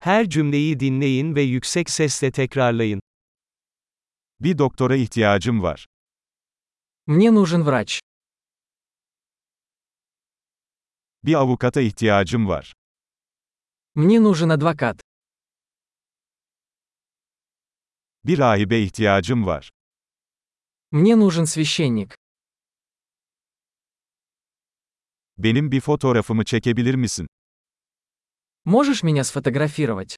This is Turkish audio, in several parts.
Her cümleyi dinleyin ve yüksek sesle tekrarlayın. Bir doktora ihtiyacım var. Мне нужен врач. Bir avukata ihtiyacım var. Мне нужен адвокат. Bir rahibe ihtiyacım var. Мне нужен священник. Benim bir fotoğrafımı çekebilir misin? Можешь меня сфотографировать?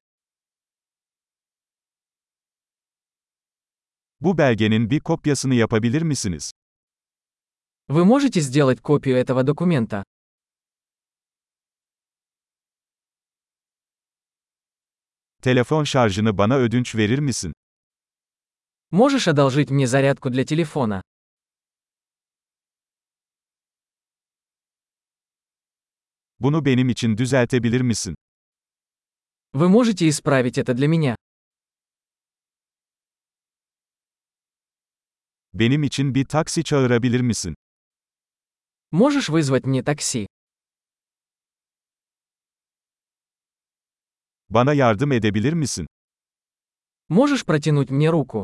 Bu belgenin bir kopyasını yapabilir misiniz? Вы можете сделать копию этого документа? Telefon şarjını bana ödünç verir misin? Можешь одолжить мне зарядку для телефона? Bunu benim için düzeltebilir misin? Вы можете исправить это для меня? Benim için bir taksi çağırabilir misin? Можешь вызвать мне такси? Bana yardım edebilir misin? Можешь протянуть мне руку?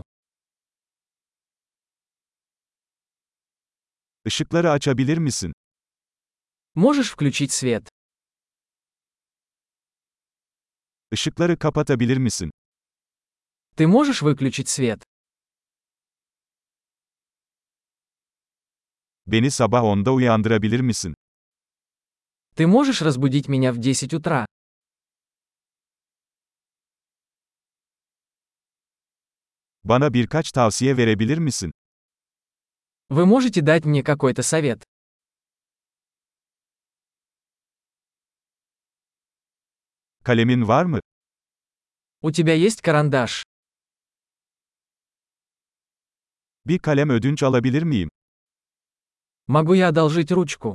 Işıkları açabilir misin? Можешь включить свет? Işıkları kapatabilir misin? Ты можешь выключить свет? Beni sabah 10'da uyandırabilir misin? Ты можешь разбудить меня в 10 утра? Bana birkaç tavsiye verebilir misin? Вы можете дать мне какой-то совет? Kalemin var mı? У тебя есть карандаш? Bir kalem ödünç alabilir miyim? Могу я одолжить ручку?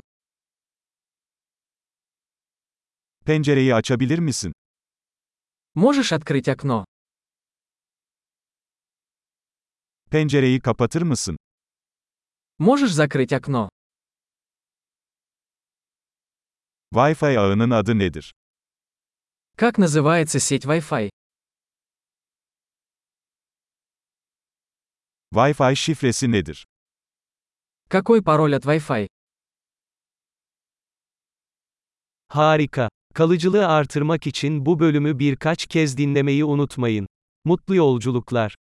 Pencereyi açabilir misin? Можешь открыть окно? Pencereyi kapatır mısın? Можешь закрыть окно? Wi-Fi ağının adı nedir? Как называется сеть Wi-Fi? Wi-Fi şifresi nedir? Какой пароль от Wi-Fi? Harika. Kalıcılığı artırmak için bu bölümü birkaç kez dinlemeyi unutmayın. Mutlu yolculuklar.